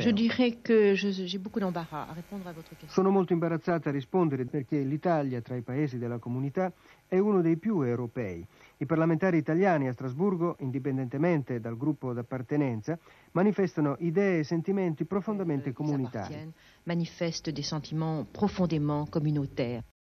Je dirais que j'ai beaucoup d'embarras a répondre à votre question. Sono molto imbarazzata a rispondere perché l'Italia, tra i paesi della comunità, è uno dei più europei. I parlamentari italiani a Strasburgo, indipendentemente dal gruppo d'appartenenza, manifestano idee e sentimenti profondamente comunitari. Manifestent des sentiments profondément communautaires.